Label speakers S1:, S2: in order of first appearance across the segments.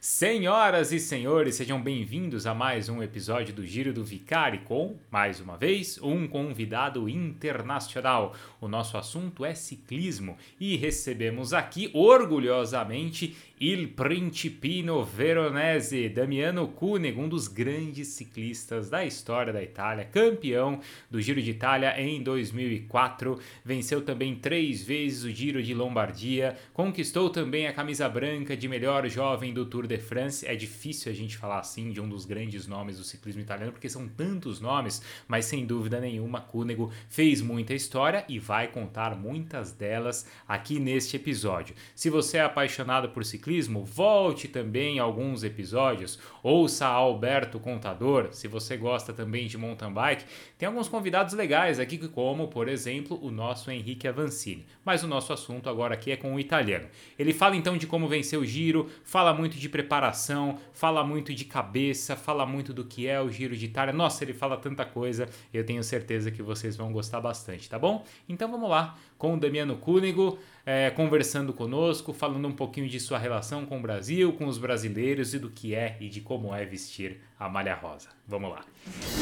S1: Senhoras e senhores, sejam bem-vindos a mais um episódio do Giro do Vicari com, mais uma vez, um convidado internacional. O nosso assunto é ciclismo e recebemos aqui, orgulhosamente, Il Principino Veronese, Damiano Cunego, um dos grandes ciclistas da história da Itália, campeão do Giro de Itália em 2004, venceu também 3 vezes o Giro de Lombardia, conquistou também a camisa branca de melhor jovem do Tour de France. É difícil a gente falar assim de um dos grandes nomes do ciclismo italiano, porque são tantos nomes, mas sem dúvida nenhuma, Cunego fez muita história e vai contar muitas delas aqui neste episódio. Se você é apaixonado por ciclismo, volte também a alguns episódios, ouça Alberto Contador. Se você gosta também de mountain bike, tem alguns convidados legais aqui, como, por exemplo, o nosso Henrique Avancini. Mas o nosso assunto agora aqui é com o italiano. Ele fala então de como vencer o Giro, fala muito de preparação, fala muito de cabeça, fala muito do que é o Giro de Itália. Nossa, ele fala tanta coisa, eu tenho certeza que vocês vão gostar bastante, tá bom? Então vamos lá com o Damiano Cunego, conversando conosco, falando um pouquinho de sua relação com o Brasil, com os brasileiros e do que é e de como é vestir a malha rosa. Vamos lá.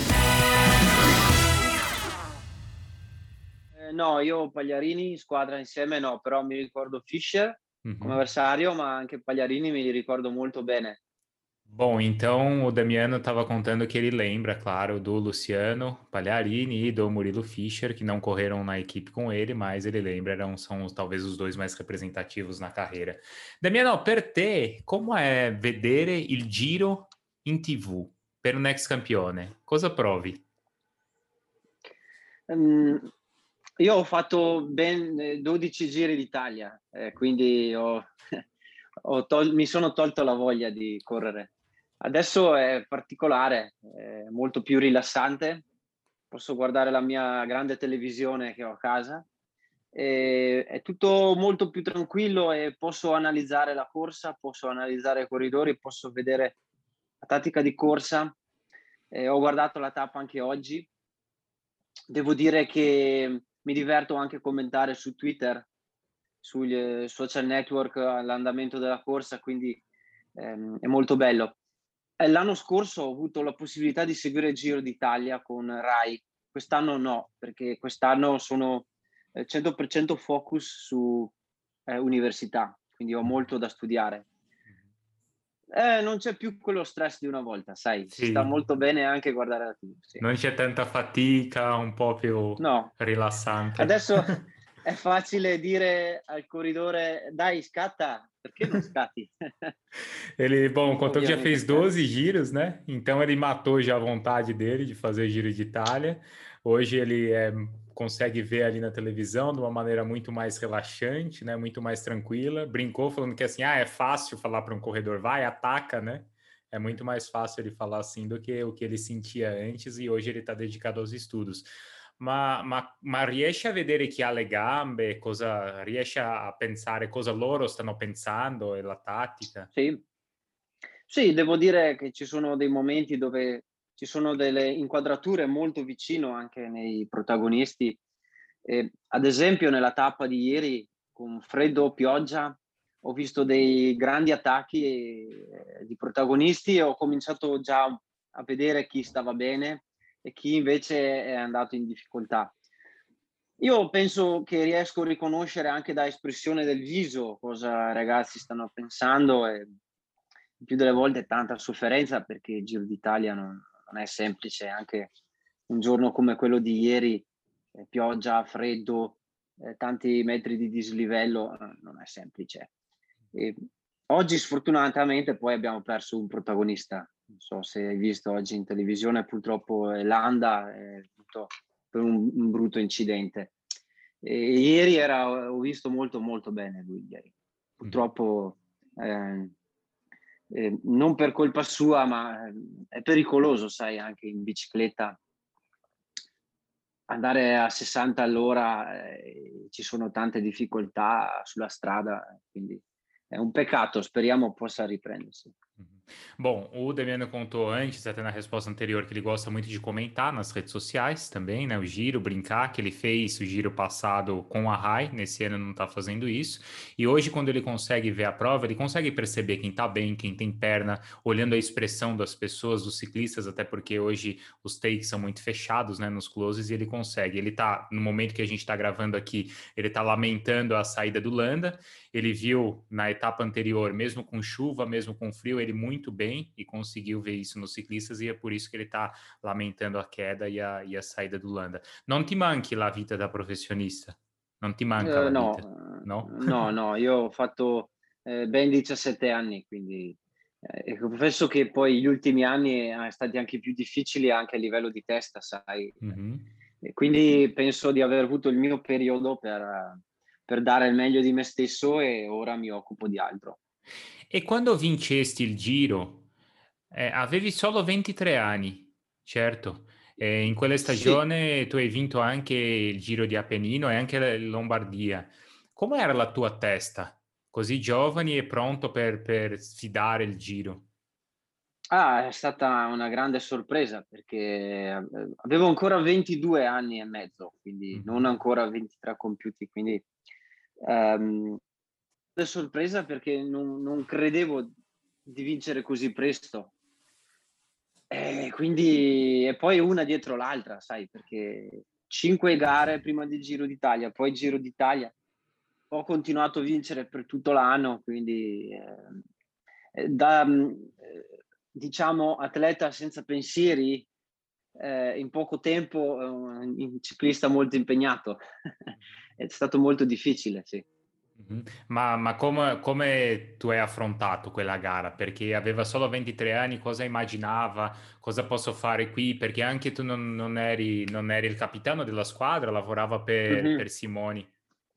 S2: No, io Pagliarini, squadra insieme no, però mi ricordo Fischer come
S1: Uhum.
S2: avversario, ma anche Pagliarini me li ricordo molto bene.
S1: Bom, então o Damiano estava contando que ele lembra, claro, do Luciano Pagliarini e do Murilo Fischer, que não correram na equipe com ele, mas ele lembra, são talvez os dois mais representativos na carreira. Damiano, per te, como è vedere il Giro in TV per un ex campione? Cosa provi?
S2: Mhmm, io ho fatto ben 12 giri d'Italia, quindi ho mi sono tolto la voglia di correre. Adesso è particolare, è molto più rilassante. Posso guardare la mia grande televisione che ho a casa, è tutto molto più tranquillo e posso analizzare la corsa, posso analizzare i corridori, posso vedere la tattica di corsa. Ho guardato la tappa anche oggi. Devo dire che mi diverto anche a commentare su Twitter, sugli social network l'andamento della corsa, quindi, è molto bello. L'anno scorso ho avuto la possibilità di seguire il Giro d'Italia con Rai, quest'anno no, perché quest'anno sono, 100% focus su, università, quindi ho molto da studiare. Non c'è più quello stress di una volta, sai, si sta
S1: Sì,
S2: molto bene anche guardare la TV, sì.
S1: non c'è tanta fatica, un po' più
S2: No.
S1: rilassante.
S2: Adesso è facile dire al corridore: "Dai, scatta", perché non scatti?
S1: Ele, bom, contou que já
S2: Ovviamente
S1: fez
S2: scatti.
S1: 12 giros, né? Então ele matou já a vontade dele de fazer o Giro de Itália. Hoje ele consegue ver ali na televisão de uma maneira muito mais relaxante, né? Muito mais tranquila. Brincou falando que assim, é fácil falar para um corredor, vai, ataca, né? É muito mais fácil ele falar assim do que o que ele sentia antes e hoje ele está dedicado aos estudos. Ma riesce a vedere chi ha le gambe, cosa riesce a pensare cosa loro stanno pensando e la tattica?
S2: Sì. Sì, devo dire che ci sono dei momenti dove ci sono delle inquadrature molto vicino anche nei protagonisti. Ad esempio nella tappa di ieri con freddo, pioggia, ho visto dei grandi attacchi, di protagonisti e ho cominciato già a vedere chi stava bene e chi invece è andato in difficoltà. Io penso che riesco a riconoscere anche da espressione del viso cosa i ragazzi stanno pensando e il più delle volte tanta sofferenza perché il Giro d'Italia non è semplice, anche un giorno come quello di ieri, pioggia, freddo, tanti metri di dislivello, non è semplice. E oggi sfortunatamente poi abbiamo perso un protagonista. Non so se hai visto oggi in televisione, purtroppo Landa è avuto per un brutto incidente. Ieri ho visto molto, molto bene lui ieri.
S1: Mhm.
S2: Purtroppo, non per colpa sua, ma è pericoloso, sai, anche in bicicletta andare a 60 all'ora, ci sono tante difficoltà sulla strada, quindi è un peccato, speriamo possa riprendersi.
S1: Bom, o Damiano contou antes, até na resposta anterior, que ele gosta muito de comentar nas redes sociais também, né? O giro, brincar, que ele fez o giro passado com a Rai, nesse ano não tá fazendo isso. E hoje, quando ele consegue ver a prova, ele consegue perceber quem tá bem, quem tem perna, olhando a expressão das pessoas, dos ciclistas, até porque hoje os takes são muito fechados, né, nos closes, e ele consegue. Ele tá, no momento que a gente tá gravando aqui, ele tá lamentando a saída do Landa. Ele viu na etapa anterior, mesmo com chuva, mesmo com frio, ele muito bem e conseguiu ver isso nos ciclistas, e é por isso que ele está lamentando a queda e a saída do Landa. Non ti manchi la vita da professionista? Non ti manca la
S2: No,
S1: vita? No?
S2: no, no, io ho fatto, ben 17 anni, quindi e confesso che poi gli ultimi anni stati anche più difficili anche a livello di testa, sai,
S1: Mhm.
S2: e quindi penso di aver avuto il mio periodo per dare il meglio di me stesso e ora mi occupo di altro.
S1: E quando vincesti il Giro, avevi solo 23 anni, certo. In quella
S2: Sì.
S1: stagione tu hai vinto anche il Giro di Appennino e anche la Lombardia. Com'era la tua testa, così giovane e pronto per sfidare il Giro?
S2: È stata una grande sorpresa perché avevo ancora 22 anni e mezzo, quindi non
S1: Mhm.
S2: ancora 23 compiuti, quindi grande sorpresa perché non credevo di vincere così presto. Quindi e poi una dietro l'altra, sai, perché 5 gare prima del Giro d'Italia, poi Giro d'Italia. Ho continuato a vincere per tutto l'anno, quindi, diciamo atleta senza pensieri, in poco tempo, un ciclista molto impegnato. È stato molto difficile, sì.
S1: Mhm. Ma come tu hai affrontato quella gara? Perché aveva solo 23 anni, cosa immaginava? Cosa posso fare qui? Perché anche tu non eri il capitano della squadra, lavorava per
S2: Mh-mh.
S1: Simoni.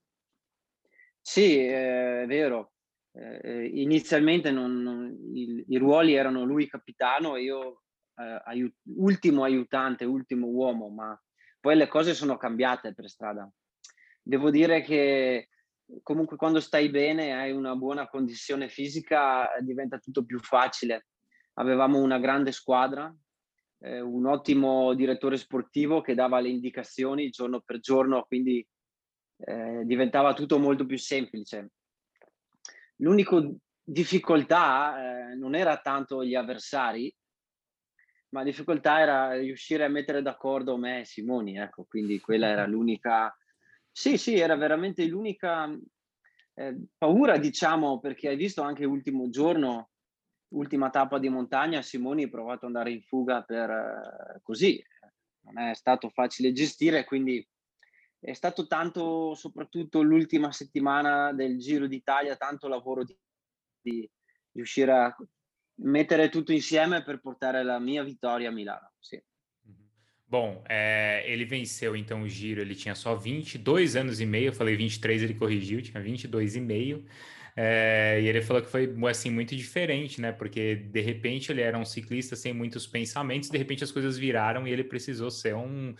S2: Sì, è vero. Inizialmente non i ruoli erano lui capitano e io, ultimo aiutante, ultimo uomo, ma poi le cose sono cambiate per strada. Devo dire che comunque quando stai bene, hai una buona condizione fisica, diventa tutto più facile. Avevamo una grande squadra, un ottimo direttore sportivo che dava le indicazioni giorno per giorno, quindi diventava tutto molto più semplice. L'unico difficoltà, non era tanto gli avversari, ma la difficoltà era riuscire a mettere d'accordo me e Simoni, ecco, quindi quella era l'unica. Sì, sì, era veramente l'unica, paura diciamo, perché hai visto anche ultimo giorno, ultima tappa di montagna, Simoni ha provato ad andare in fuga per così, non è stato facile gestire, quindi è stato tanto soprattutto l'ultima settimana del Giro d'Italia, tanto lavoro di riuscire a mettere tutto insieme per portare la mia vittoria a Milano, sì.
S1: Uhum. Bom, ele venceu então o Giro, ele tinha só 22 anos e meio, eu falei 23, ele corrigiu, tinha 22 e meio. E ele falou que foi assim muito diferente, né? Porque de repente ele era um ciclista sem muitos pensamentos, de repente as coisas viraram e ele precisou ser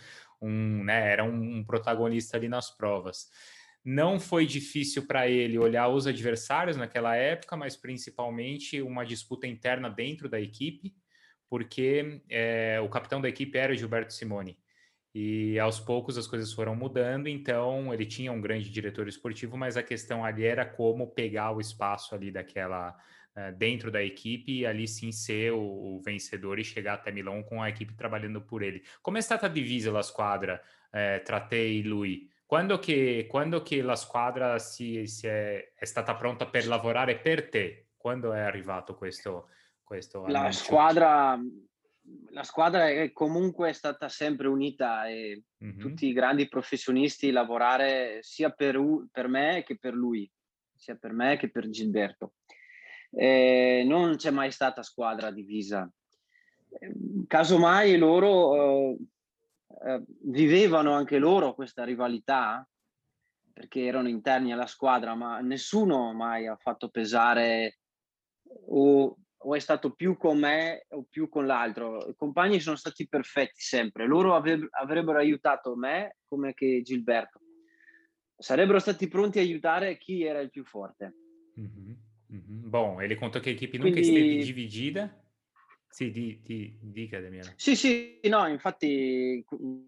S1: né, era um protagonista ali nas provas. Não foi difícil para ele olhar os adversários naquela época, mas principalmente uma disputa interna dentro da equipe, porque o capitão da equipe era Gilberto Simoni. E aos poucos as coisas foram mudando, então ele tinha um grande diretor esportivo, mas a questão ali era como pegar o espaço ali daquela dentro da equipe e ali sim ser o vencedor e chegar até Milão com a equipe trabalhando por ele. Come è stata divisa la squadra tra te e lui? Quando che la squadra è stata pronta per lavorare per te? Quando è arrivato questo
S2: La
S1: annuncio?
S2: squadra la squadra è comunque stata sempre unita e
S1: Mhm.
S2: tutti i grandi professionisti lavorare sia per me che per lui, sia per me che per Gilberto. Non c'è mai stata squadra divisa. Casomai loro, vivevano anche loro questa rivalità, perché erano interni alla squadra, ma nessuno mai ha fatto pesare o è stato più con me o più con l'altro. I compagni sono stati perfetti sempre. Loro avrebbero aiutato me come che Gilberto. Sarebbero stati pronti a aiutare chi era il più forte.
S1: Mhm. Bom, ele contou que a equipe nunca esteve
S2: Quindi
S1: dividida. Sì, dica Damiano.
S2: sì, sì, no, infatti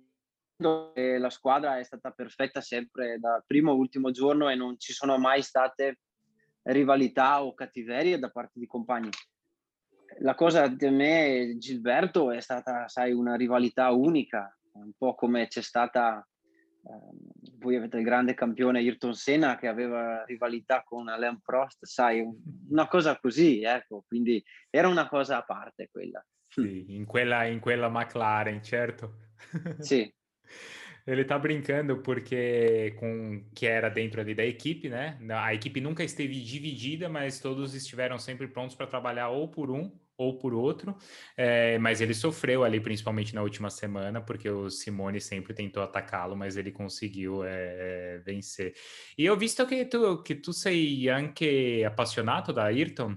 S2: la squadra è stata perfetta sempre da primo a ultimo giorno e non ci sono mai state rivalità o cattiverie da parte di compagni. La cosa di me e Gilberto è stata, sai, una rivalità unica, un po' come c'è stata, voi avete il grande campione Ayrton Senna che aveva rivalità con Alain Prost, sai, una cosa così, ecco, quindi era una cosa a parte quella.
S1: Sì, in quella McLaren, certo.
S2: Sì.
S1: Ele tá brincando porque com que era dentro ali da equipe, né? A equipe nunca esteve dividida, mas todos estiveram sempre prontos para trabalhar ou por um ou por outro. Mas ele sofreu ali, principalmente na última semana, porque o Simone sempre tentou atacá-lo, mas ele conseguiu vencer. E ho visto che tu sei anche appassionato da Ayrton.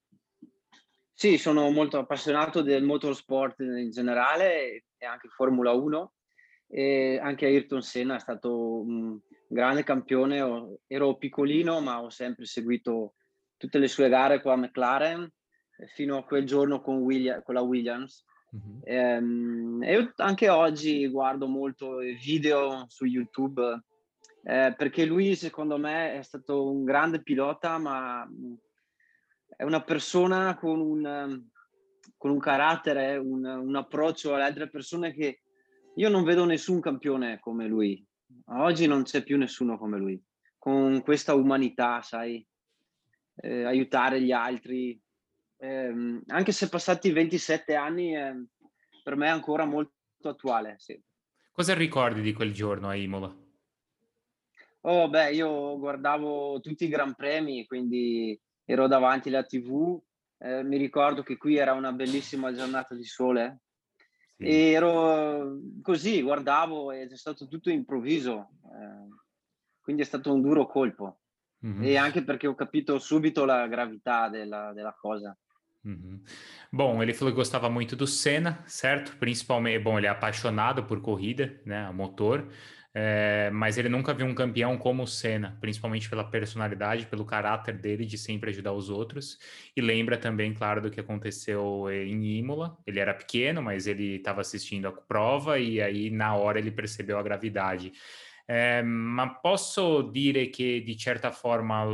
S2: Sì, sono molto appassionato del motorsport in generale e anche Formula 1 e anche Ayrton Senna è stato un grande campione. Ero piccolino, ma ho sempre seguito tutte le sue gare con la McLaren fino a quel giorno con la Williams.
S1: Uhum.
S2: E io anche oggi guardo molto i video su YouTube perché lui secondo me è stato un grande pilota, ma è una persona con un carattere, un approccio alle altre persone che io non vedo nessun campione come lui. Oggi non c'è più nessuno come lui, con questa umanità, sai, aiutare gli altri. Anche se passati 27 anni, per me è ancora molto attuale, sì.
S1: Cosa ricordi di quel giorno a Imola?
S2: Oh beh, io guardavo tutti i gran premi, quindi ero davanti alla TV. Mi ricordo che qui era una bellissima giornata di sole
S1: Sì.
S2: e ero così, guardavo ed è stato tutto improvviso, quindi è stato un duro colpo.
S1: Uhum.
S2: E anche perché ho capito subito la gravità della cosa.
S1: Uhum. Bom, ele falou que gostava muito do Senna, certo? Principalmente, bom, ele é apaixonado por corrida, né, a motor, mas ele nunca viu um campeão como o Senna, principalmente pela personalidade, pelo caráter dele de sempre ajudar os outros. E lembra também, claro, do que aconteceu em Imola. Ele era pequeno, mas ele estava assistindo a prova e aí na hora ele percebeu a gravidade. Ma posso dire che di certa forma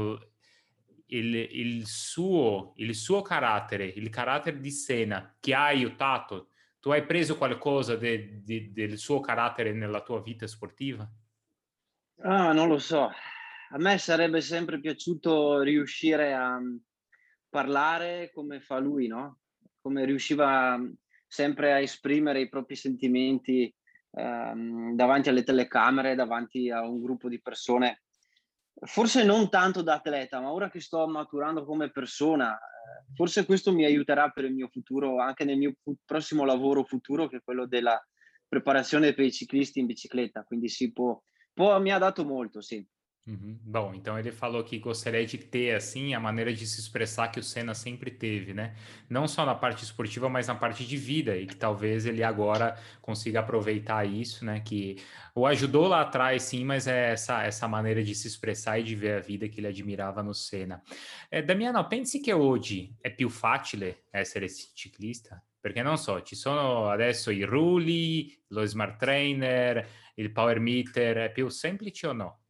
S1: il suo carattere, il carattere di Senna ti ha aiutato? Tu hai preso qualcosa del suo carattere nella tua vita sportiva?
S2: Ah, non lo so. A me sarebbe sempre piaciuto riuscire a, parlare come fa lui, no, come riusciva, sempre a esprimere i propri sentimenti, davanti alle telecamere, davanti a un gruppo di persone. Forse non tanto da atleta, ma ora che sto maturando come persona, forse questo mi aiuterà per il mio futuro, anche nel mio prossimo lavoro futuro, che è quello della preparazione per i ciclisti in bicicletta. Quindi sì, mi ha dato molto, sì.
S1: Uhum. Bom, então ele falou que gostaria de ter, assim, a maneira de se expressar que o Senna sempre teve, né? Não só na parte esportiva, mas na parte de vida, e que talvez ele agora consiga aproveitar isso, né? Que o ajudou lá atrás, sim, mas é essa maneira de se expressar e de ver a vida que ele admirava no Senna. Damiano, pensi che oggi è più facile essere ciclista? Perché non so, ci sono adesso i rulli, lo smart trainer, il power meter, è più semplice o no?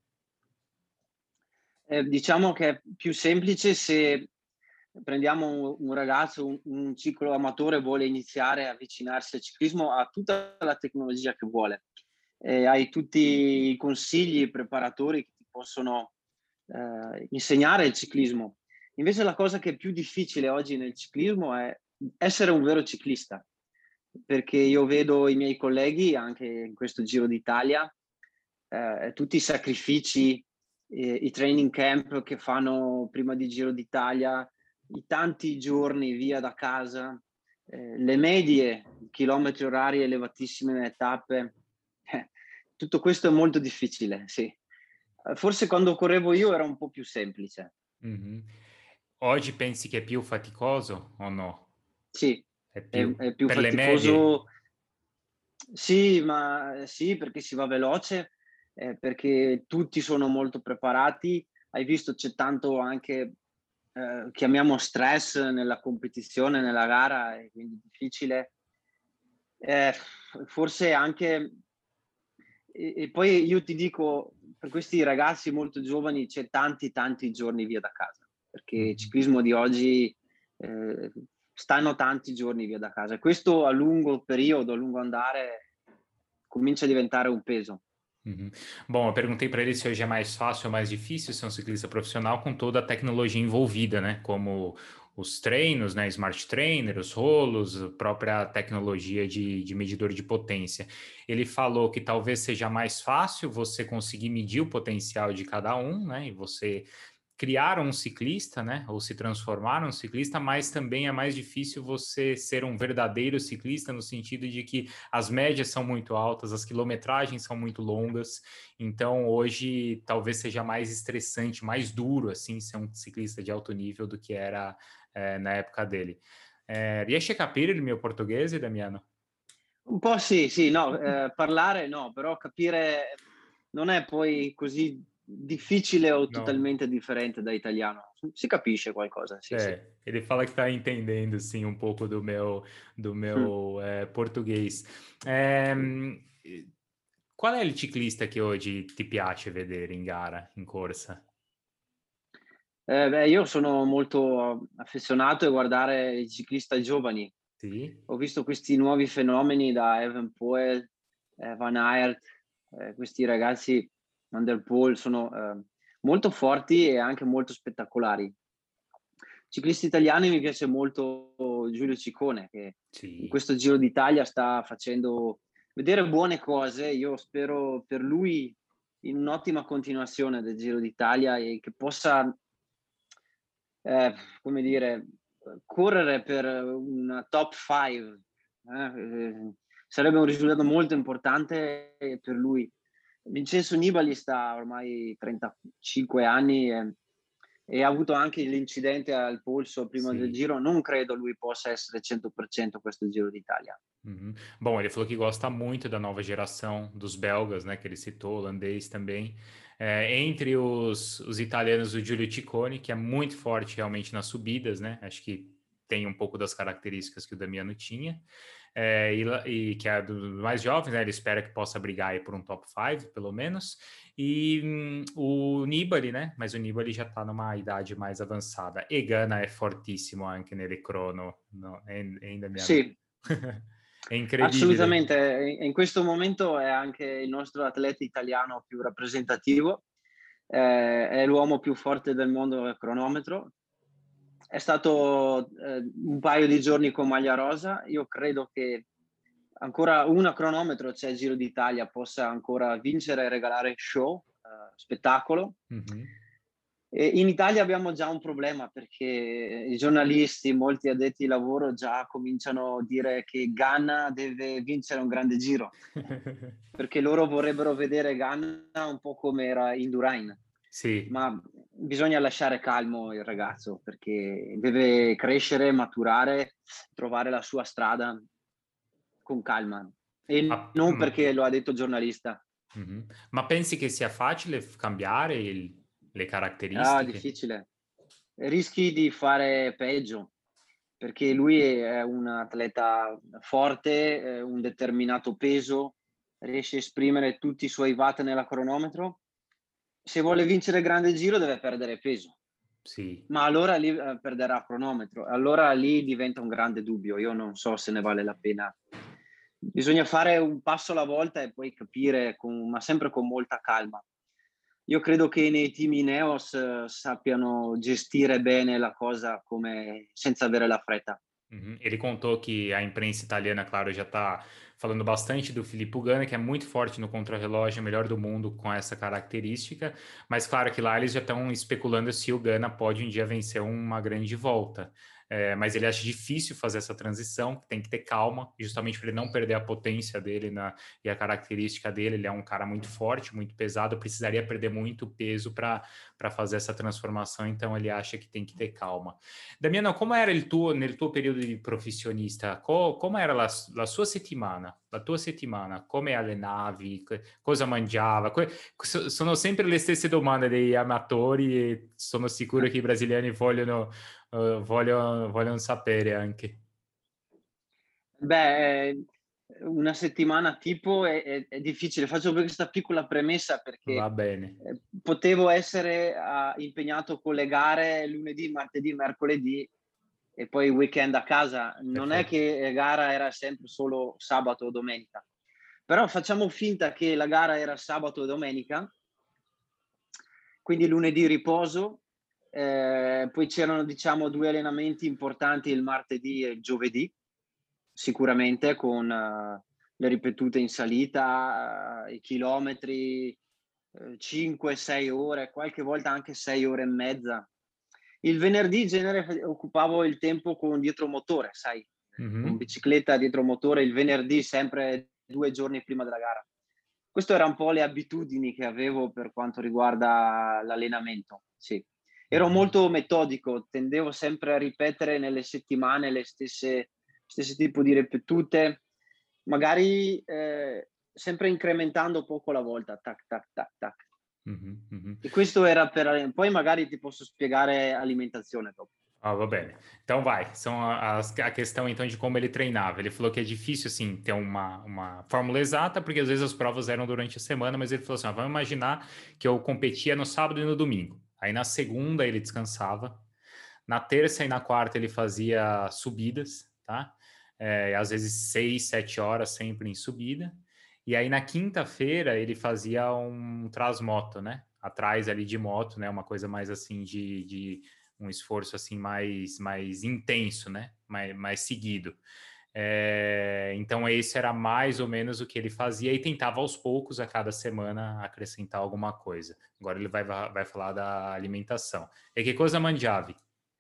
S2: Diciamo che è più semplice se prendiamo un ragazzo, un ciclo amatore vuole iniziare a avvicinarsi al ciclismo, ha tutta la tecnologia che vuole, hai tutti i consigli, i preparatori che ti possono, insegnare il ciclismo. Invece la cosa che è più difficile oggi nel ciclismo è essere un vero ciclista, perché io vedo i miei colleghi anche in questo Giro d'Italia, tutti i sacrifici, i training camp che fanno prima di Giro d'Italia, i tanti giorni via da casa, le medie, chilometri orari elevatissimi nelle tappe. Tutto questo è molto difficile, sì. Forse quando correvo io era un po' più semplice.
S1: Mh-mh. Oggi pensi che è più faticoso o no?
S2: Sì,
S1: È
S2: è
S1: più
S2: più
S1: per le medie?
S2: faticoso. Sì, ma sì, perché si va veloce, perché tutti sono molto preparati. Hai visto c'è tanto anche chiamiamo stress nella competizione, nella gara, e quindi difficile. Forse anche e poi io ti dico, per questi ragazzi molto giovani c'è tanti giorni via da casa, perché il
S1: Mh-mh.
S2: ciclismo di oggi, ehm, stanno tanti giorni via da casa e questo a lungo periodo, a lungo andare, comincia a diventare um peso.
S1: Uhum. Bom, eu perguntei para ele se hoje é mais fácil ou mais difícil ser um ciclista profissional com toda a tecnologia envolvida, né? Como os treinos, né? Smart Trainer, os rolos, a própria tecnologia de medidor de potência. Ele falou que talvez seja mais fácil você conseguir medir o potencial de cada um, né? E você criar um ciclista, né, ou se transformar num ciclista, mas também é mais difícil você ser um verdadeiro ciclista no sentido de que as médias são muito altas, as quilometragens são muito longas, então hoje talvez seja mais estressante, mais duro assim ser um ciclista de alto nível do que era na época dele. Riesci a capire il mio portoghese, Damiano?
S2: Un po' sì, sì, no, parlare no, però capire non è poi così difficile o
S1: Não.
S2: totalmente differente da italiano. Si capisce qualcosa, sì, sì.
S1: É, ele fala que está entendendo, sim, um pouco do
S2: Mh.
S1: meu português. Qual è il ciclista che oggi ti piace vedere in gara, in corsa?
S2: Beh, io sono molto affezionato a guardare i ciclista giovani.
S1: Sì?
S2: Ho visto questi nuovi fenomeni da Evenepoel, Van Aert, questi ragazzi, Van der Poel, sono, molto forti e anche molto spettacolari. Ciclisti italiani mi piace molto Giulio Ciccone, che in
S1: Sì.
S2: questo Giro d'Italia sta facendo vedere buone cose. Io spero per lui in un'ottima continuazione del Giro d'Italia e che possa, come dire, correre per una top 5, sarebbe un risultato molto importante per lui. Vincenzo Nibali sta ormai 35 anni e ha avuto anche l'incidente al polso prima del
S1: Sì.
S2: Giro. Non credo lui possa essere 100% questo Giro d'Italia.
S1: Uhum. Bom, ele falou que gosta muito da nova geração dos belgas, né, que ele citou, holandês também. Entre os italianos, o Giulio Ciccone, que é muito forte realmente nas subidas, né? Acho que tem um pouco das características que o Damiano tinha. E que é dos mais jovens, né? Ele espera que possa brigar aí por um top 5, pelo menos. E o Nibali, né? Mas o Nibali já tá numa idade mais avançada. E Ganna é fortissimo anche nelle crono, no? Hein, Damiano?
S2: Sì,
S1: È incredibile.
S2: assolutamente. E in questo momento è anche il nostro atleta italiano più rappresentativo, è l'uomo più forte del mondo a cronometro. È stato, un paio di giorni con maglia rosa. Io credo che ancora una cronometro, cioè il Giro d'Italia, possa ancora vincere e regalare show, spettacolo.
S1: Uhum.
S2: E in Italia abbiamo già un problema perché i giornalisti, molti addetti ai lavoro già cominciano a dire che Ganna deve vincere un grande giro, perché loro vorrebbero vedere Ganna un po' come era Indurain,
S1: Sì.
S2: ma bisogna lasciare calmo il ragazzo perché deve crescere, maturare, trovare la sua strada con calma e
S1: Ma,
S2: non
S1: ma-
S2: perché lo ha detto il giornalista.
S1: mhm. Ma pensi che sia facile cambiare le
S2: Ah,
S1: caratteristiche?
S2: difficile. Rischi di fare peggio, perché lui è un atleta forte, un determinato peso, riesce a esprimere tutti i suoi watt nella cronometro. Se vuole vincere il grande giro deve perdere peso,
S1: Sì.
S2: ma allora lì, perderà cronometro. Allora lì diventa un grande dubbio. Io non so se ne vale la pena. Bisogna fare un passo alla volta e poi capire ma sempre con molta calma. Io credo che nei team Ineos sappiano gestire bene la cosa come senza avere la fretta.
S1: Uhum. Ele contou que a imprensa italiana, claro, já está falando bastante do Filippo Ganna, que é muito forte no contrarrelógio, é o melhor do mundo com essa característica, mas claro que lá eles já estão especulando se o Ganna pode um dia vencer uma grande volta. mas ele acha difícil fazer essa transição, tem que ter calma, justamente para ele não perder a potência dele e a característica dele. Ele é um cara muito forte, muito pesado, precisaria perder muito peso para fazer essa transformação, então ele acha que tem que ter calma. Damiano, come era nel tuo periodo di professionista? Come era la sua settimana? La tua settimana? Come allenavi? Cosa mangiava? Sono sempre le stesse domande degli amatori e sono sicuro che i brasiliani vogliono sapere anche.
S2: Beh, una settimana tipo è difficile. Faccio questa piccola premessa
S1: Va
S2: perché
S1: bene,
S2: potevo essere impegnato con le gare lunedì, martedì, mercoledì e poi il weekend a casa. Non è
S1: perfetto.
S2: che la gara era sempre solo sabato o domenica. Però facciamo finta che la gara era sabato e domenica, quindi lunedì riposo, poi c'erano diciamo 2 allenamenti importanti il martedì e il giovedì, sicuramente con le ripetute in salita, i chilometri, 5, 6 ore, qualche volta anche 6 ore e mezza. Il venerdì in genere occupavo il tempo con dietromotore, sai, con
S1: Mhm.
S2: bicicletta dietromotore, il venerdì sempre 2 giorni prima della gara. Questo era un po' le abitudini che avevo per quanto riguarda l'allenamento, sì. Ero
S1: Mhm.
S2: molto metodico, tendevo sempre a ripetere nelle settimane le stesse tipo di ripetute, magari, sempre incrementando poco alla volta, tac, tac, tac, tac.
S1: Mhm. Mhm.
S2: E questo era poi magari ti posso spiegare alimentazione dopo.
S1: Ah, va bene. Então vai, são a questão então de como ele treinava. Ele falou que é difícil, assim, ter uma fórmula exata, porque às vezes as provas eram durante a semana, mas ele falou assim, vamos imaginar que eu competia no sábado e no domingo. Aí na segunda ele descansava, na terça e na quarta ele fazia subidas, tá? Às vezes 6, 7 horas sempre em subida. E aí na quinta-feira ele fazia um trasmoto, né? Atrás ali de moto, né? Uma coisa mais assim de um esforço assim mais intenso, né? Mais seguido. Então esse era mais ou menos o que ele fazia e tentava aos poucos a cada semana acrescentar alguma coisa. Agora ele vai falar da alimentação. E che cosa mangiavi?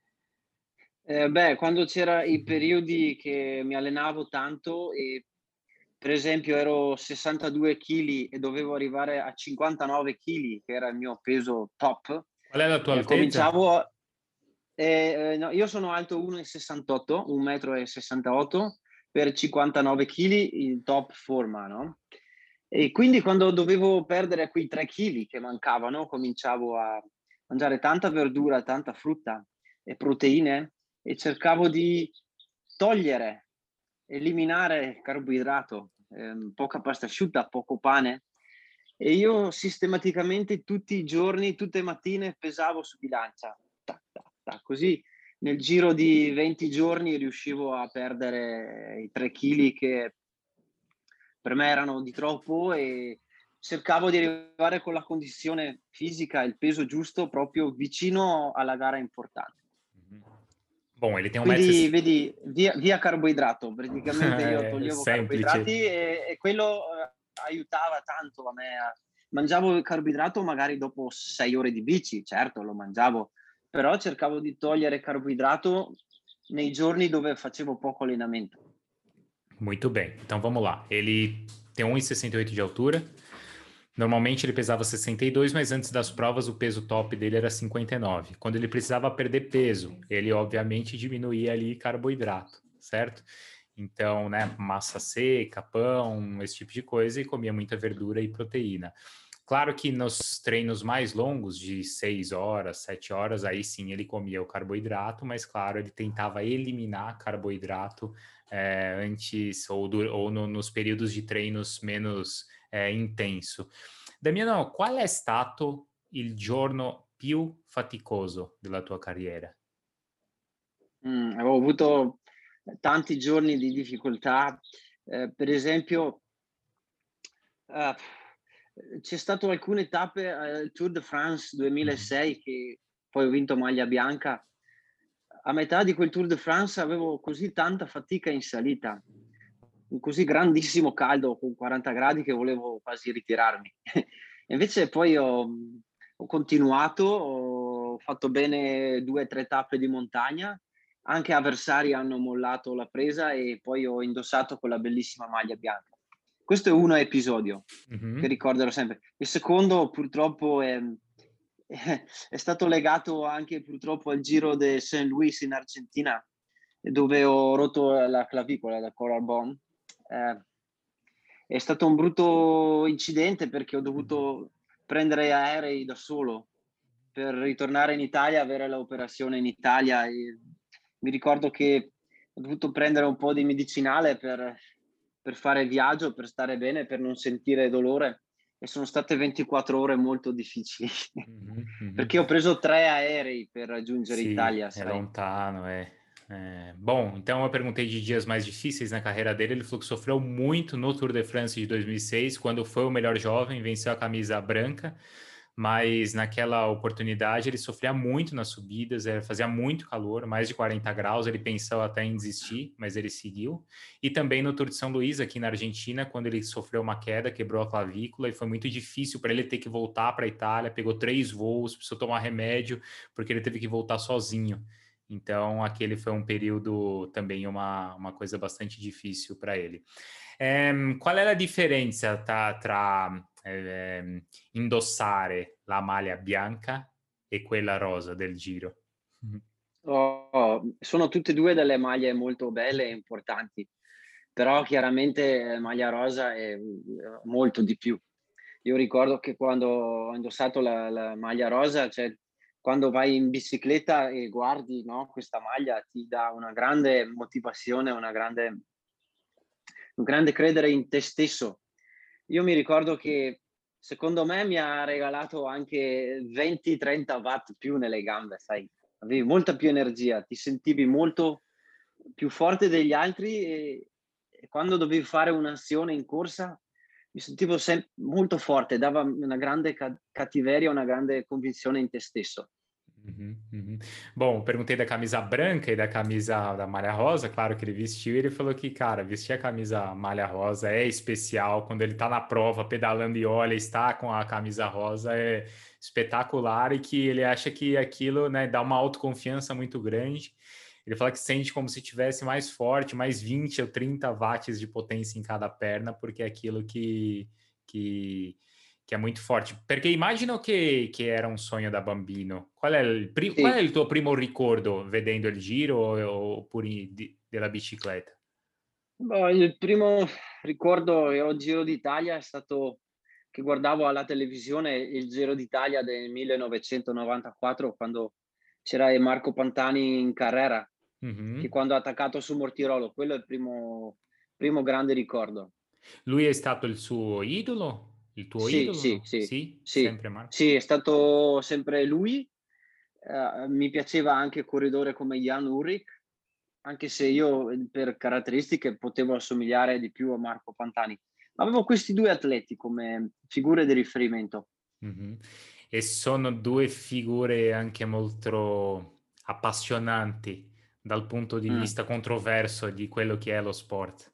S2: Beh, quando c'era i periodi che mi allenavo tanto e per esempio ero 62 chili e dovevo arrivare a 59 chili, che era il mio peso top,
S1: Qual è la tua altezza?
S2: cominciavo a no, io sono alto 1,68 m, 1,68 m per 59 chili in top forma, no, e quindi quando dovevo perdere quei 3 chili che mancavano, cominciavo a mangiare tanta verdura, tanta frutta e proteine e cercavo di togliere, eliminare carboidrato, poca pasta asciutta, poco pane e io sistematicamente tutti i giorni, tutte le mattine pesavo su bilancia, tac, tac, tac, così nel giro di 20 giorni riuscivo a perdere i 3 chili che per me erano di troppo e cercavo di arrivare con la condizione fisica, il peso giusto proprio vicino alla gara importante.
S1: Mhm. Bom, ele tem 1,60
S2: Quindi
S1: m.
S2: vedi, via carboidrato, praticamente io
S1: É
S2: toglievo
S1: semplice.
S2: carboidrati e quello, aiutava tanto a me a mangiavo il carboidrato magari dopo 6 ore di bici, certo lo mangiavo, però cercavo di togliere carboidrato nei giorni dove facevo poco allenamento.
S1: Muito bem. Então vamos lá. Ele tem 1,68 de altura. Normalmente ele pesava 62, mas antes das provas o peso top dele era 59. Quando ele precisava perder peso, ele obviamente diminuía ali carboidrato, certo? Então, né, massa seca, pão, esse tipo de coisa, e comia muita verdura e proteína. Claro que nos treinos mais longos, de 6 horas, 7 horas, aí sim ele comia o carboidrato, mas claro, ele tentava eliminar carboidrato antes ou nos períodos de treinos menos intenso. Damiano, qual è stato il giorno più faticoso della tua carriera?
S2: Avevo avuto tanti giorni di difficoltà, per esempio, uhm, c'è stato alcune tappe al Tour de France
S1: Mhm.
S2: 2006 che poi ho vinto maglia bianca. A metà di quel Tour de France avevo così tanta fatica in salita, un così grandissimo caldo con 40 gradi che volevo quasi ritirarmi. E invece poi ho continuato, ho fatto bene 2, 3 tappe di montagna, anche avversari hanno mollato la presa e poi ho indossato quella bellissima maglia bianca. Questo è uno episodio che
S1: Mhm,
S2: ricorderò sempre. Il secondo purtroppo è stato legato anche purtroppo al Giro de Saint Louis in Argentina, dove ho rotto la clavicola, la collarbone. Eh, è stato un brutto incidente perché ho
S1: mhm,
S2: dovuto prendere aerei da solo per ritornare in Italia, avere l'operazione in Italia. E mi ricordo che ho dovuto prendere un po' di medicinale per fare il viaggio, per stare bene, per non sentire dolore. E sono state 24 ore molto difficili
S1: mhm, mhm.
S2: perché ho preso 3 aerei per raggiungere
S1: Sim,
S2: Itália,
S1: é
S2: sai?
S1: lontano, é. Bom, então eu perguntei de dias mais difíceis na carreira dele. Ele falou que sofreu muito no Tour de France de 2006, quando foi o melhor jovem, venceu a camisa branca, mas naquela oportunidade ele sofria muito nas subidas, fazia muito calor, mais de 40 graus. Ele pensou até em desistir, mas ele seguiu. E também no Tour de São Luís, aqui na Argentina, quando ele sofreu uma queda, quebrou a clavícula e foi muito difícil para ele ter que voltar para a Itália. Pegou 3 voos, precisou tomar remédio porque ele teve que voltar sozinho. Então, aquele foi um período também uma coisa bastante difícil para ele. Qual è la differenza tra indossare la maglia bianca e quella rosa del Giro?
S2: Sono tutte e 2 delle maglie molto belle e importanti, però chiaramente maglia rosa è, molto di più. Io ricordo che quando ho indossato la maglia rosa, cioè quando vai in bicicletta e guardi, no, questa maglia ti dà una grande motivazione, un grande credere in te stesso. Io mi ricordo che secondo me mi ha regalato anche 20, 30 watt più nelle gambe, sai, avevi molta più energia, ti sentivi molto più forte degli altri e quando dovevi fare un'azione in corsa mi sentivo molto forte, dava una grande cattiveria, una grande convinzione in te stesso.
S1: Uhum, uhum. Bom, perguntei da camisa branca e da camisa da malha rosa, claro que ele vestiu, e ele falou que, cara, vestir a camisa malha rosa é especial, quando ele tá na prova, pedalando e olha, está com a camisa rosa, é espetacular, e que ele acha que aquilo, né, dá uma autoconfiança muito grande. Ele fala que sente como se tivesse mais forte, mais 20 ou 30 watts de potência em cada perna, porque é aquilo que che è molto forte. Perché immagino che era un sogno da bambino. Qual è
S2: Sì.
S1: il tuo primo ricordo vedendo il Giro oppure della bicicletta?
S2: Boh, il primo ricordo che ho Giro d'Italia è stato che guardavo alla televisione il Giro d'Italia del 1994 quando c'era Marco Pantani in carrera, che
S1: Mhm.
S2: quando ha attaccato su Mortirolo, quello è il primo grande ricordo.
S1: Lui è stato il suo idolo? Il tuo
S2: Sì,
S1: idolo?
S2: sì,
S1: No?
S2: sì,
S1: Sì?
S2: sì,
S1: Sempre Marco?
S2: sì, è stato sempre lui. Mi piaceva anche corridore come Jan Ullrich, anche se io, per caratteristiche potevo assomigliare di più a Marco Pantani. Ma avevo questi 2 atleti come figure di riferimento.
S1: Mhm. E sono due figure anche molto appassionanti dal punto di
S2: Mh.
S1: vista controverso di quello che è lo sport.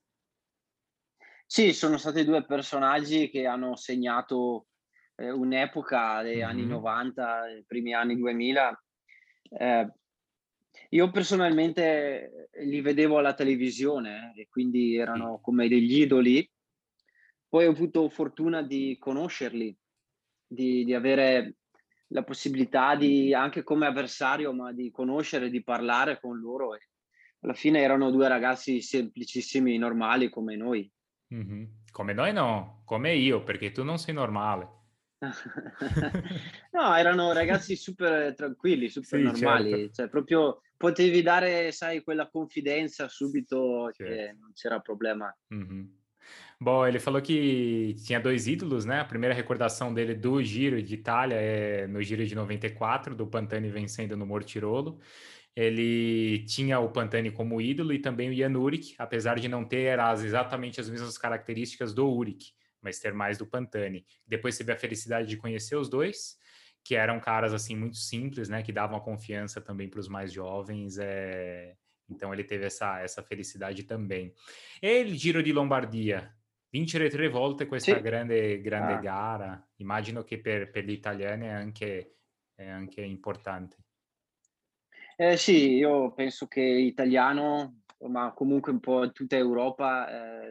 S2: Sì, sono stati 2 personaggi che hanno segnato, un'epoca degli anni
S1: Mhm.
S2: '90, i primi anni 2000. Ehm, io personalmente li vedevo alla televisione e quindi
S1: Sì.
S2: erano come degli idoli. Poi ho avuto fortuna di conoscerli, di avere la possibilità di anche come avversario, ma di conoscere, di parlare con loro e alla fine erano 2 ragazzi semplicissimi, normali come noi.
S1: Mhm. Come noi no, come io, perché tu non sei normale.
S2: No, erano ragazzi super tranquilli, super
S1: Sì, certo,
S2: normali, cioè proprio potevi dare, sai, quella confidenza subito
S1: certo.
S2: che non c'era problema.
S1: Uhum. Bom, ele falou que tinha dois ídolos, né? A primeira recordação dele do Giro de Itália é no Giro de 94, do Pantani vencendo no Mortirolo. Ele tinha o Pantani como ídolo e também o Jan Urik, apesar de não ter exatamente as mesmas características do Urik, mas ter mais do Pantani. Depois teve a felicidade de conhecer os dois, que eram caras assim muito simples, né? Que davam a confiança também para os mais jovens. Então ele teve essa felicidade também. E il Giro di Lombardia, vincere 3 volte questa
S2: Sì.
S1: grande
S2: Ah.
S1: gara, immagino che per gli italiani è anche importante.
S2: Sì, io penso che italiano, ma comunque un po' in tutta Europa,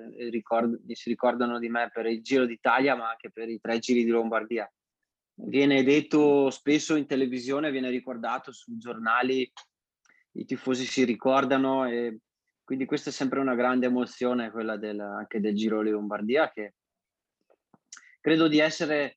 S2: si ricordano di me per il Giro d'Italia, ma anche per i 3 Giri di Lombardia. Viene detto spesso in televisione, viene ricordato sui giornali, i tifosi si ricordano, e quindi questa è sempre una grande emozione, quella anche del Giro di Lombardia, che credo di essere,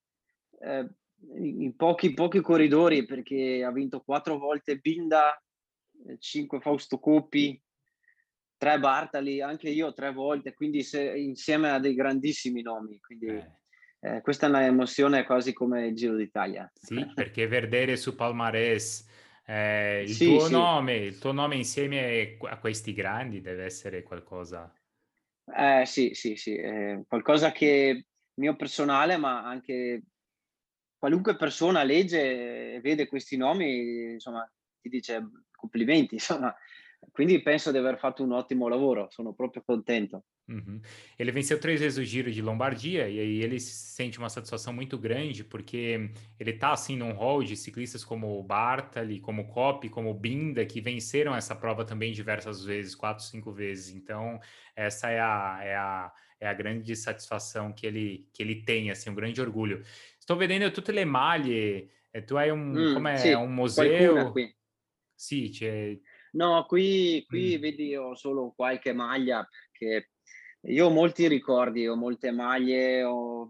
S2: in pochi corridori, perché ha vinto 4 volte Binda, 5 Fausto Coppi, 3 Bartali, anche io 3 volte, quindi insieme a dei grandissimi nomi, quindi,
S1: Eh,
S2: questa è una emozione quasi come il Giro d'Italia.
S1: sì, perché vedere su palmarès
S2: Sì, sì,
S1: il tuo nome insieme a questi grandi deve essere qualcosa.
S2: sì, sì, sì, qualcosa che mio personale, ma anche qualunque persona legge e vede questi nomi, insomma, ti dice complimenti, insomma. Quindi penso di aver fatto un ottimo lavoro, sono proprio contento.
S1: Uhum. Ele venceu 3 vezes o Giro de Lombardia e aí ele sente uma satisfação muito grande porque ele tá assim num hall de ciclistas como o Bartali, como o Coppi, como o Binda, que venceram essa prova também diversas vezes, 4, 5 vezes. Então, essa é a grande satisfação que ele tem, assim, um grande orgulho. Sto vedendo tutte le maglie, tu hai un, come
S2: Sì,
S1: un
S2: qualcuna
S1: museo?
S2: qui.
S1: Sì, c'è.
S2: No, qui
S1: Mm,
S2: vedi ho solo qualche maglia, perché io ho molti ricordi, ho molte maglie, ho,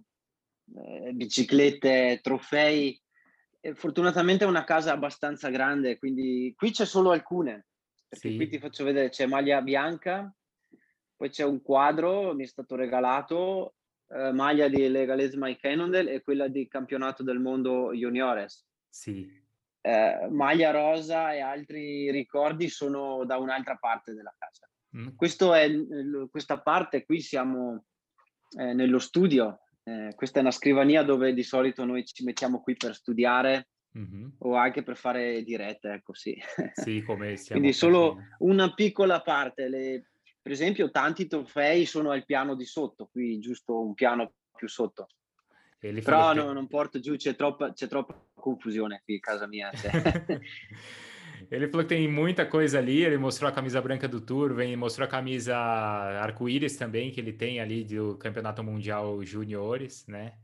S2: biciclette, trofei, e fortunatamente è una casa abbastanza grande, quindi qui c'è solo alcune, perché qui
S1: sì,
S2: ti faccio vedere, c'è maglia bianca, poi c'è un quadro, mi è stato regalato, maglia di Legalez Mike Cannondale e quella di campionato del mondo juniores.
S1: sì.
S2: Maglia rosa e altri ricordi sono da un'altra parte della casa.
S1: Mm,
S2: Questo è questa parte qui, siamo, nello studio. Questa è una scrivania dove di solito noi ci mettiamo qui per studiare
S1: mhm.
S2: o anche per fare dirette, ecco, sì.
S1: Sì, come stiamo
S2: Quindi solo
S1: facendo.
S2: una piccola parte. Per esempio tanti trofei sono al piano di sotto, qui giusto un piano più sotto.
S1: Ele falou
S2: Però
S1: que
S2: no, non porto giù, c'è troppa confusione qui a casa mia, cioè.
S1: Ele falou que tem muita coisa ali. Ele mostrou a camisa branca do Tour, mostrou a camisa arco-íris também, que ele tem ali do Campeonato Mundial Juniores, né?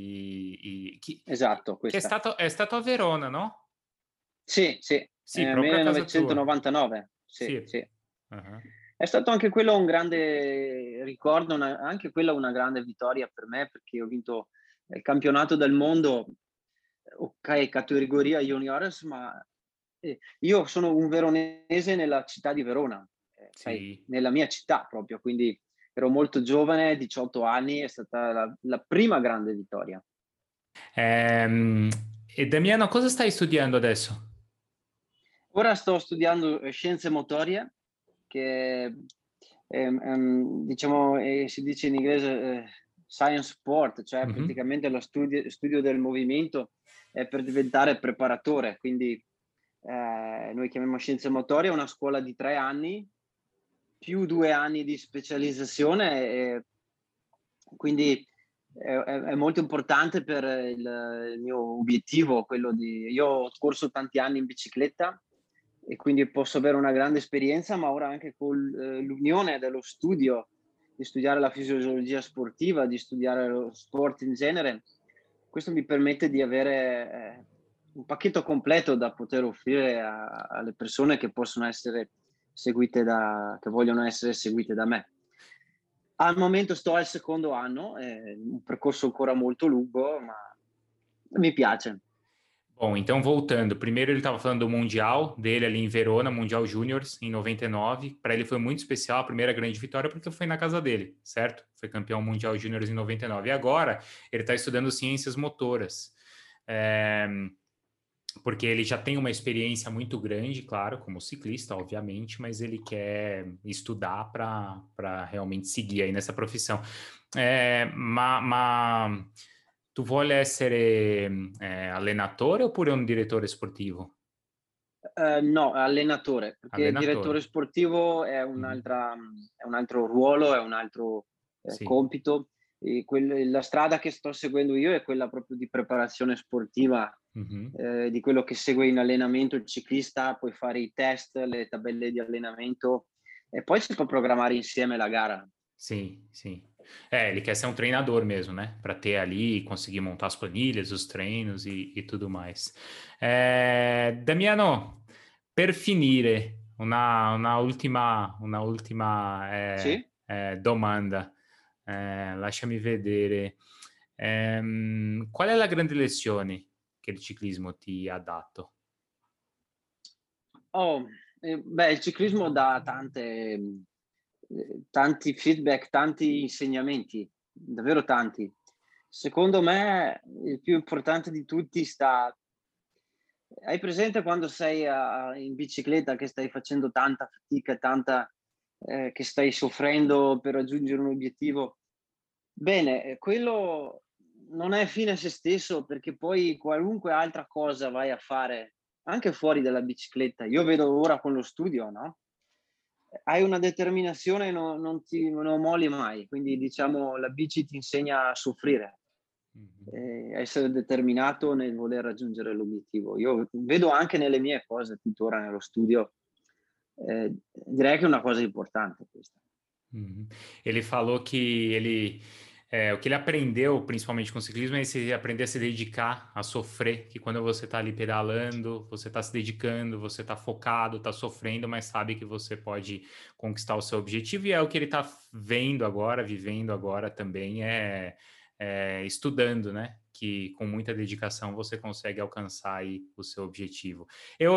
S1: E
S2: Esatto,
S1: che
S2: questa.
S1: è stato a Verona, no?
S2: Sì, sì,
S1: Sì, proprio a casa tua.
S2: 1999, sì,
S1: Sì.
S2: sì.
S1: Ah,
S2: È stato anche quello un grande ricordo, anche quella una grande vittoria per me, perché ho vinto il campionato del mondo, okay, categoria juniores, ma, io sono un veronese nella città di Verona, sai,
S1: sì.
S2: nella mia città proprio, quindi ero molto giovane, 18 anni, è stata la prima grande vittoria.
S1: Ehm, e Damiano, cosa stai studiando adesso?
S2: Ora sto studiando, scienze motorie, che diciamo, si dice in inglese, science sport, cioè
S1: Mhm.
S2: praticamente lo studio del movimento, per diventare preparatore. Quindi, noi chiamiamo scienze motorie, è una scuola di 3 anni, più 2 anni di specializzazione, quindi è molto importante per il mio obiettivo, quello di io ho corso tanti anni in bicicletta e quindi posso avere una grande esperienza, ma ora anche l'unione dello studio, di studiare la fisiologia sportiva, di studiare lo sport in genere, questo mi permette di avere, un pacchetto completo da poter offrire alle persone che possono essere che vogliono essere seguite da me. Al momento sto al secondo anno, è un percorso ancora molto lungo, ma mi piace.
S1: Bom, então voltando, primeiro ele estava falando do Mundial dele ali em Verona, Mundial Júniors, em 99. Para ele foi muito especial a primeira grande vitória porque foi na casa dele, certo? Foi campeão Mundial Júniors em 99. E agora ele está estudando ciências motoras. É, porque ele já tem uma experiência muito grande, claro, como ciclista, obviamente, mas ele quer estudar para realmente seguir aí nessa profissão. Ma tu vuole essere allenatore oppure un direttore sportivo?
S2: No, allenatore, perché
S1: Allenatore.
S2: direttore sportivo
S1: Mhm.
S2: è un altro ruolo, è un altro,
S1: Sì,
S2: compito. La strada che sto seguendo io è quella proprio di preparazione sportiva,
S1: Mhm.
S2: di quello che segue in allenamento il ciclista, puoi fare i test, le tabelle di allenamento e poi si può programmare insieme la gara.
S1: Sim, sim. É, ele quer ser um treinador mesmo, né? Para ter ali, conseguir montar as planilhas, os treinos e tudo mais. Damiano, per finire, una ultima
S2: Sì?
S1: domanda. Lasciami vedere. Qual è la grande lezione che il ciclismo ti ha dato?
S2: Oh, beh, il ciclismo dà tanti feedback, tanti insegnamenti, davvero tanti. Secondo me il più importante di tutti sta hai presente quando sei in bicicletta che stai facendo tanta fatica, tanta che stai soffrendo per raggiungere un obiettivo? Bene, quello non è fine a se stesso, perché poi qualunque altra cosa vai a fare, anche fuori dalla bicicletta, io vedo ora con lo studio, no, hai una determinazione, non molli mai, quindi diciamo la bici ti insegna a soffrire,
S1: Mhm.
S2: a essere determinato nel voler raggiungere l'obiettivo. Io vedo anche nelle mie cose tuttora nello studio, direi che è una cosa importante questa.
S1: Uhum. Ele falou que o que ele aprendeu, principalmente com o ciclismo, é esse aprender a se dedicar, a sofrer, que quando você está ali pedalando, você está se dedicando, você está focado, está sofrendo, mas sabe que você pode conquistar o seu objetivo, e é o que ele está vendo agora, vivendo agora também, estudando, né? Que com muita dedicação você consegue alcançar aí o seu objetivo. E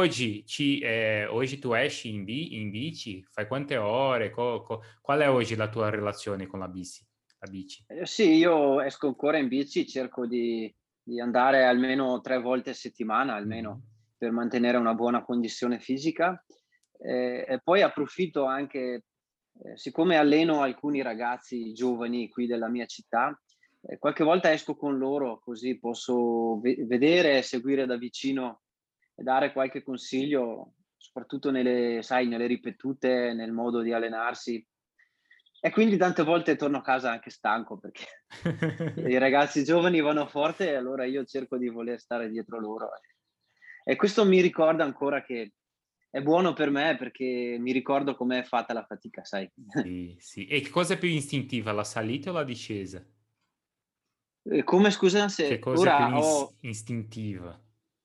S1: hoje tu esci in bici? Fai quante ore? Qual è oggi la tua relazione con la bici? La bici?
S2: Sì, io esco ancora in bici, cerco di andare almeno 3 volte a settimana,
S1: Mhm.
S2: almeno, per mantenere una buona condizione fisica, e poi approfitto anche siccome alleno alcuni ragazzi giovani qui della mia città, qualche volta esco con loro, così posso vedere e seguire da vicino e dare qualche consiglio, soprattutto nelle ripetute, nel modo di allenarsi. E quindi tante volte torno a casa anche stanco perché i ragazzi giovani vanno forte e allora io cerco di voler stare dietro loro. E questo mi ricorda ancora che è buono per me perché mi ricordo com'è fatta la fatica, sai.
S1: Sì, sì. E che cosa è più istintiva, la salita o la discesa?
S2: Come scusa?
S1: Che
S2: Se
S1: cosa è più
S2: ora ho
S1: istintiva,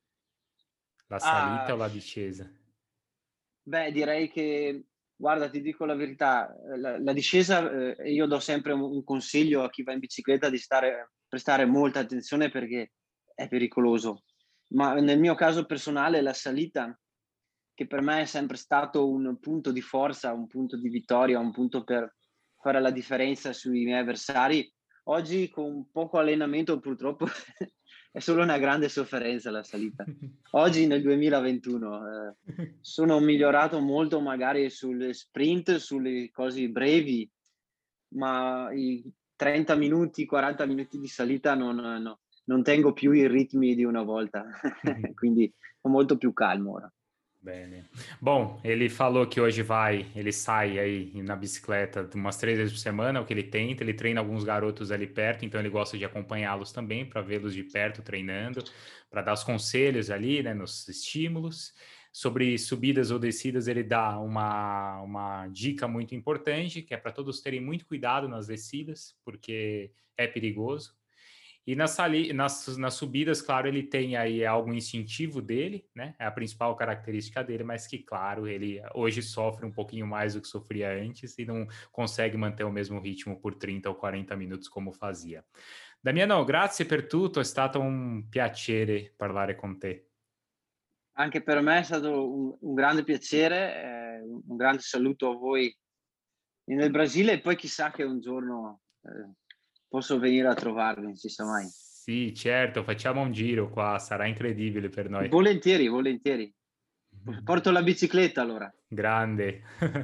S1: la salita
S2: ah,
S1: o la discesa?
S2: beh, direi che guarda, ti dico la verità, la discesa, io do sempre un consiglio a chi va in bicicletta di prestare molta attenzione perché è pericoloso. Ma nel mio caso personale la salita, che per me è sempre stato un punto di forza, un punto di vittoria, un punto per fare la differenza sui miei avversari, oggi con poco allenamento purtroppo è solo una grande sofferenza la salita. Oggi nel 2021, sono migliorato molto magari sulle sprint, sulle cose brevi, ma i 30 minuti, 40 minuti di salita non tengo più i ritmi di una volta, quindi ho molto più calmo ora.
S1: Bene. Bom, ele falou que hoje ele sai aí na bicicleta umas 3 vezes por semana, é o que ele tenta. Ele treina alguns garotos ali perto, então ele gosta de acompanhá-los também para vê-los de perto treinando, para dar os conselhos ali, né, nos estímulos. Sobre subidas ou descidas, ele dá uma dica muito importante, que é para todos terem muito cuidado nas descidas, porque é perigoso. E nas subidas, claro, ele tem aí algo instintivo dele, né? É a principal característica dele, mas que, claro, ele hoje sofre um pouquinho mais do que sofria antes e não consegue manter o mesmo ritmo por 30 ou 40 minutos como fazia. Damiano, grazie per tutto, è stato un piacere parlare con te.
S2: Anche per me è stato un grande piacere, un grande saluto a voi nel Brasile e poi chissà che un giorno, posso venire a trovarvi, non si sa mai.
S1: Sì, certo, facciamo un giro qua, sarà incredibile per noi.
S2: Volentieri, volentieri. Porto la bicicletta allora.
S1: Grande.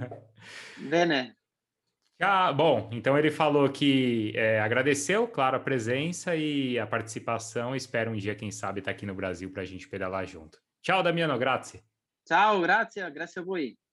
S2: Bene,
S1: Ah, bom, então ele falou que agradeceu, claro, a presença e a participação. Espera um dia, quem sabe, estar aqui no Brasil para a gente pedalar junto. Tchau, Damiano, grazie.
S2: ciao, grazie a voi.